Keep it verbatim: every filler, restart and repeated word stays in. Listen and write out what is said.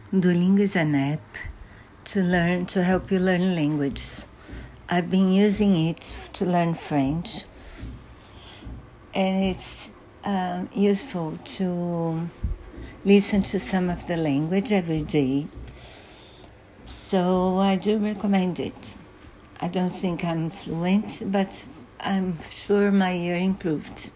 Duolingo is an app to learn to help you learn languages. I've been using it to learn French, and it's uh, useful to listen to some of the language every day. So I do recommend it. I don't think I'm fluent, but I'm sure my ear improved.